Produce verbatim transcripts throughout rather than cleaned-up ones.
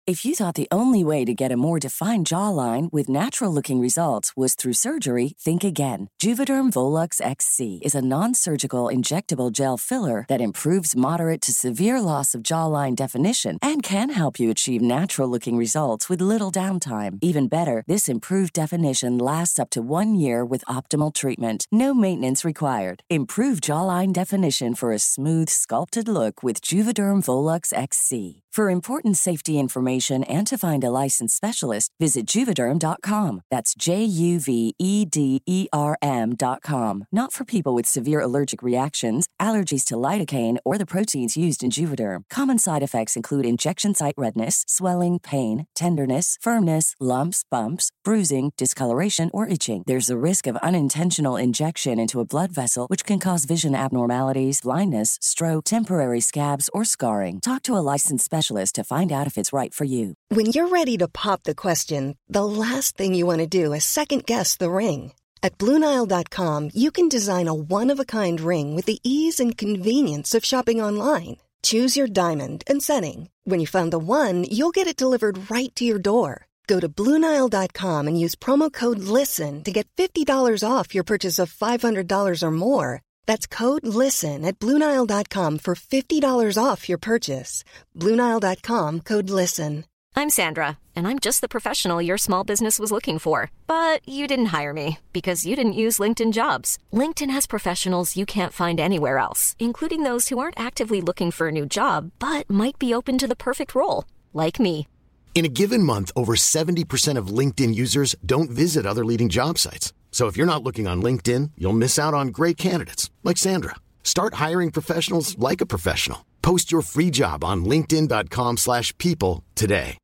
If you thought the only way to get a more defined jawline with natural-looking results was through surgery, think again. Juvederm Volux X C is a non-surgical injectable gel filler that improves moderate to severe loss of jawline definition and can help you achieve natural-looking results with little downtime. Even better, this improved definition lasts up to one year with optimal treatment. No maintenance required. Improve jawline definition for a smooth, sculpted look with Juvederm Volux X C. For important safety information and to find a licensed specialist, visit Juvederm dot com. That's J U V E D E R M dot com. Not for people with severe allergic reactions, allergies to lidocaine, or the proteins used in Juvederm. Common side effects include injection site redness, swelling, pain, tenderness, firmness, lumps, bumps, bruising, discoloration, or itching. There's a risk of unintentional injection into a blood vessel, which can cause vision abnormalities, blindness, stroke, temporary scabs, or scarring. Talk to a licensed specialist to find out if it's right for you. When you're ready to pop the question, the last thing you want to do is second-guess the ring. At Blue Nile dot com, you can design a one-of-a-kind ring with the ease and convenience of shopping online. Choose your diamond and setting. When you find the one, you'll get it delivered right to your door. Go to Blue Nile dot com and use promo code LISTEN to get fifty dollars off your purchase of five hundred dollars or more. That's code LISTEN at Blue Nile dot com for fifty dollars off your purchase. Blue Nile dot com, code LISTEN. I'm Sandra, and I'm just the professional your small business was looking for. But you didn't hire me because you didn't use LinkedIn Jobs. LinkedIn has professionals you can't find anywhere else, including those who aren't actively looking for a new job, but might be open to the perfect role, like me. In a given month, over seventy percent of LinkedIn users don't visit other leading job sites. So if you're not looking on LinkedIn, you'll miss out on great candidates like Sandra. Start hiring professionals like a professional. Post your free job on linkedin dot com slash people today.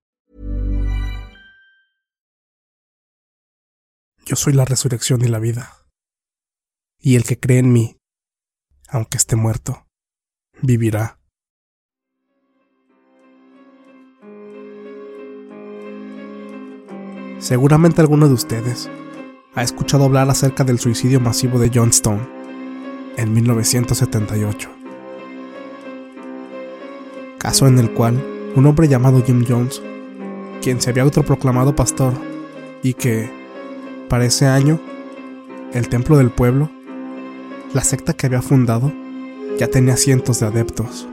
Yo soy la resurrección y la vida. Y el que cree en mí, aunque esté muerto, vivirá. Seguramente alguno de ustedes ha escuchado hablar acerca del suicidio masivo de Johnstown en mil novecientos setenta y ocho. Caso en el cual un hombre llamado Jim Jones, quien se había autoproclamado pastor y que, para ese año, el templo del pueblo, la secta que había fundado, ya tenía cientos de adeptos.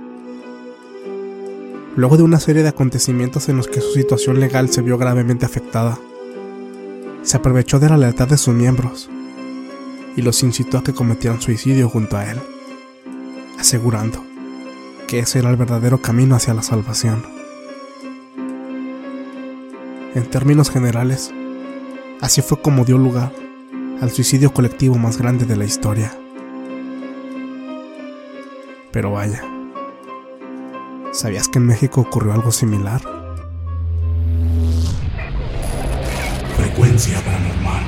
Luego de una serie de acontecimientos en los que su situación legal se vio gravemente afectada, se aprovechó de la lealtad de sus miembros y los incitó a que cometieran suicidio junto a él, asegurando que ese era el verdadero camino hacia la salvación. En términos generales, así fue como dio lugar al suicidio colectivo más grande de la historia. Pero vaya, ¿sabías que en México ocurrió algo similar? Frecuencia paranormal.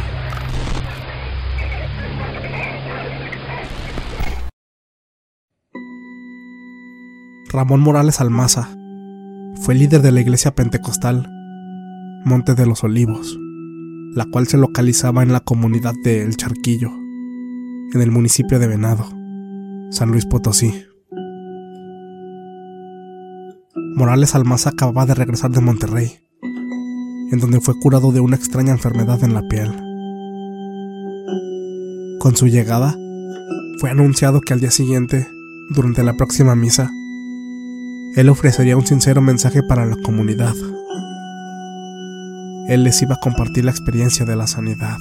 Ramón Morales Almaza fue líder de la iglesia pentecostal Monte de los Olivos, la cual se localizaba en la comunidad de El Charquillo, en el municipio de Venado, San Luis Potosí. Morales Almaza acababa de regresar de Monterrey, en donde fue curado de una extraña enfermedad en la piel. Con su llegada, fue anunciado que al día siguiente, durante la próxima misa, él ofrecería un sincero mensaje para la comunidad. Él les iba a compartir la experiencia de la sanidad.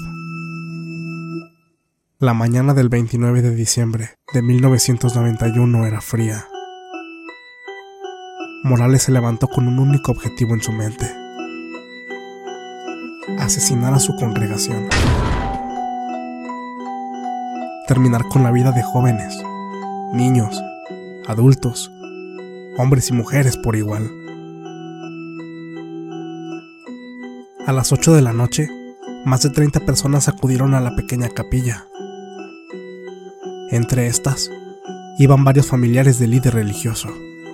La mañana del veintinueve de diciembre de mil novecientos noventa y uno era fría. Morales se levantó con un único objetivo en su mente: asesinar a su congregación. Terminar con la vida de jóvenes, niños, adultos, hombres y mujeres por igual. A las ocho de la noche, más de treinta personas acudieron a la pequeña capilla. Entre estas, iban varios familiares del líder religioso.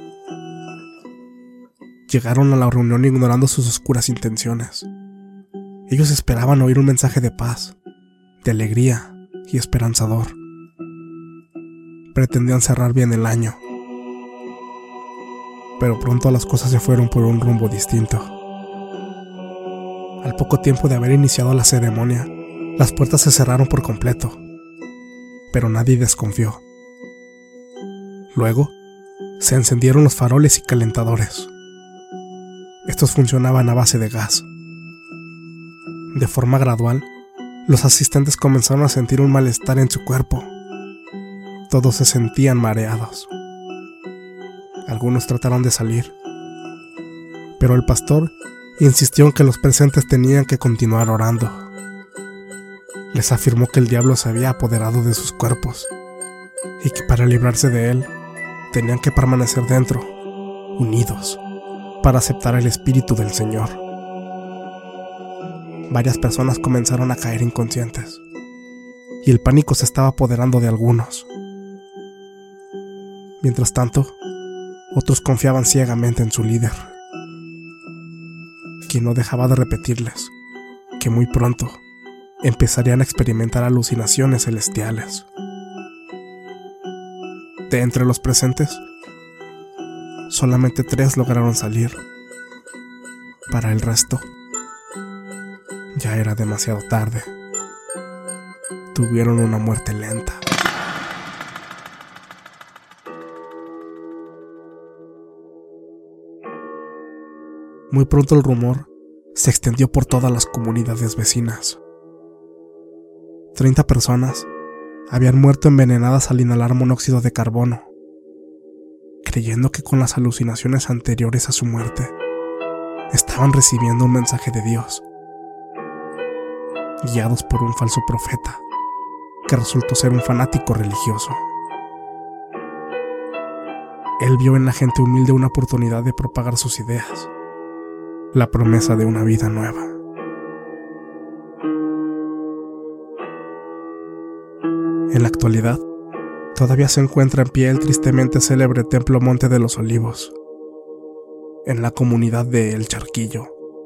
Llegaron a la reunión ignorando sus oscuras intenciones. Ellos esperaban oír un mensaje de paz, de alegría y esperanzador. Pretendían cerrar bien el año. Pero pronto las cosas se fueron por un rumbo distinto. Al poco tiempo de haber iniciado la ceremonia, las puertas se cerraron por completo, pero nadie desconfió. Luego, se encendieron los faroles y calentadores. Estos funcionaban a base de gas. De forma gradual, los asistentes comenzaron a sentir un malestar en su cuerpo. Todos se sentían mareados. Algunos trataron de salir, pero el pastor insistió en que los presentes tenían que continuar orando. Les afirmó que el diablo se había apoderado de sus cuerpos y que para librarse de él tenían que permanecer dentro, unidos, para aceptar el espíritu del Señor. Varias personas comenzaron a caer inconscientes y el pánico se estaba apoderando de algunos. Mientras tanto, otros confiaban ciegamente en su líder, quien no dejaba de repetirles que muy pronto empezarían a experimentar alucinaciones celestiales. De entre los presentes, solamente tres lograron salir. Para el resto, ya era demasiado tarde. Tuvieron una muerte lenta. Muy pronto el rumor se extendió por todas las comunidades vecinas. Treinta personas habían muerto envenenadas al inhalar monóxido de carbono, creyendo que con las alucinaciones anteriores a su muerte estaban recibiendo un mensaje de Dios, guiados por un falso profeta que resultó ser un fanático religioso. Él vio en la gente humilde una oportunidad de propagar sus ideas, la promesa de una vida nueva. En la actualidad, todavía se encuentra en pie el tristemente célebre Templo Monte de los Olivos, en la comunidad de El Charquillo.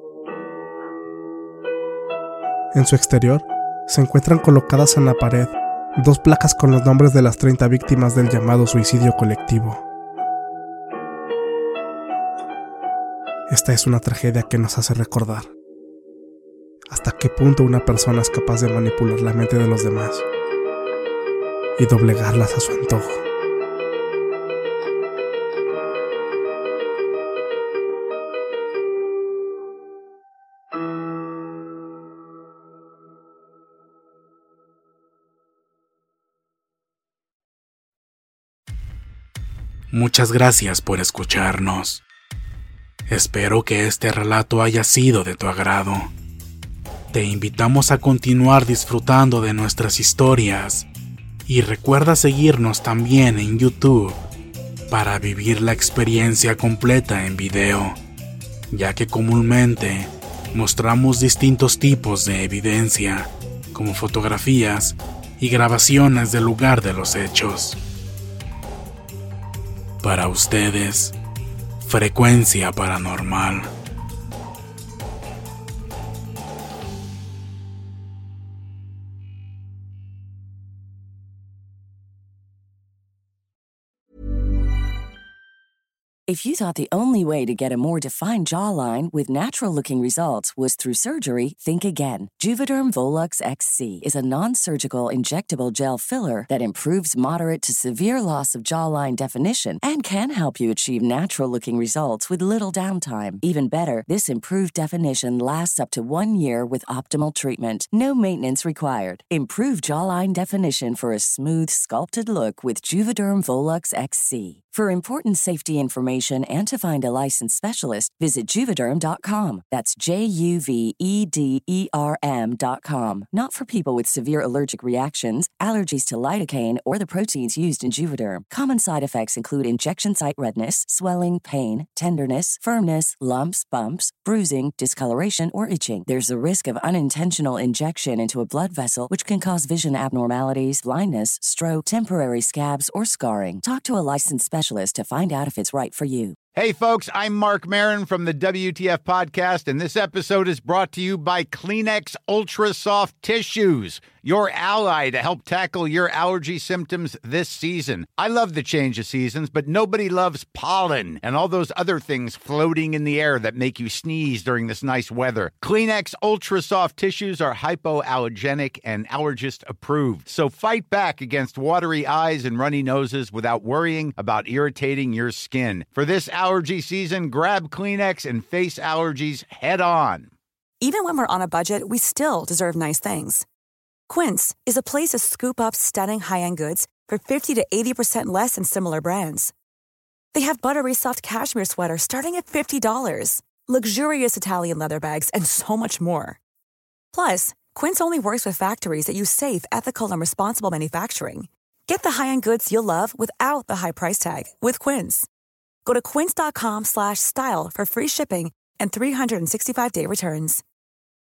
En su exterior, se encuentran colocadas en la pared dos placas con los nombres de las treinta víctimas del llamado suicidio colectivo. Esta es una tragedia que nos hace recordar hasta qué punto una persona es capaz de manipular la mente de los demás y doblegarlas a su antojo. Muchas gracias por escucharnos. Espero que este relato haya sido de tu agrado. Te invitamos a continuar disfrutando de nuestras historias y recuerda seguirnos también en YouTube para vivir la experiencia completa en video, ya que comúnmente mostramos distintos tipos de evidencia, como fotografías y grabaciones del lugar de los hechos. Para ustedes, Frecuencia Paranormal. If you thought the only way to get a more defined jawline with natural-looking results was through surgery, think again. Juvederm Volux X C is a non-surgical injectable gel filler that improves moderate to severe loss of jawline definition and can help you achieve natural-looking results with little downtime. Even better, this improved definition lasts up to one year with optimal treatment. No maintenance required. Improve jawline definition for a smooth, sculpted look with Juvederm Volux X C. For important safety information and to find a licensed specialist, visit Juvederm dot com. That's J U V E D E R M dot com. Not for people with severe allergic reactions, allergies to lidocaine, or the proteins used in Juvederm. Common side effects include injection site redness, swelling, pain, tenderness, firmness, lumps, bumps, bruising, discoloration, or itching. There's the risk of unintentional injection into a blood vessel, which can cause vision abnormalities, blindness, stroke, temporary scabs, or scarring. Talk to a licensed specialist to find out if it's right for you. Hey, folks, I'm Mark Maron from the W T F Podcast, and this episode is brought to you by Kleenex Ultra Soft Tissues, your ally to help tackle your allergy symptoms this season. I love the change of seasons, but nobody loves pollen and all those other things floating in the air that make you sneeze during this nice weather. Kleenex Ultra Soft Tissues are hypoallergenic and allergist approved. So fight back against watery eyes and runny noses without worrying about irritating your skin. For this allergy season, grab Kleenex and face allergies head on. Even when we're on a budget, we still deserve nice things. Quince is a place to scoop up stunning high-end goods for fifty to eighty percent less than similar brands. They have buttery soft cashmere sweaters starting at fifty dollars, luxurious Italian leather bags, and so much more. Plus, Quince only works with factories that use safe, ethical, and responsible manufacturing. Get the high-end goods you'll love without the high price tag with Quince. Go to quince.com slash style for free shipping and three sixty-five day returns.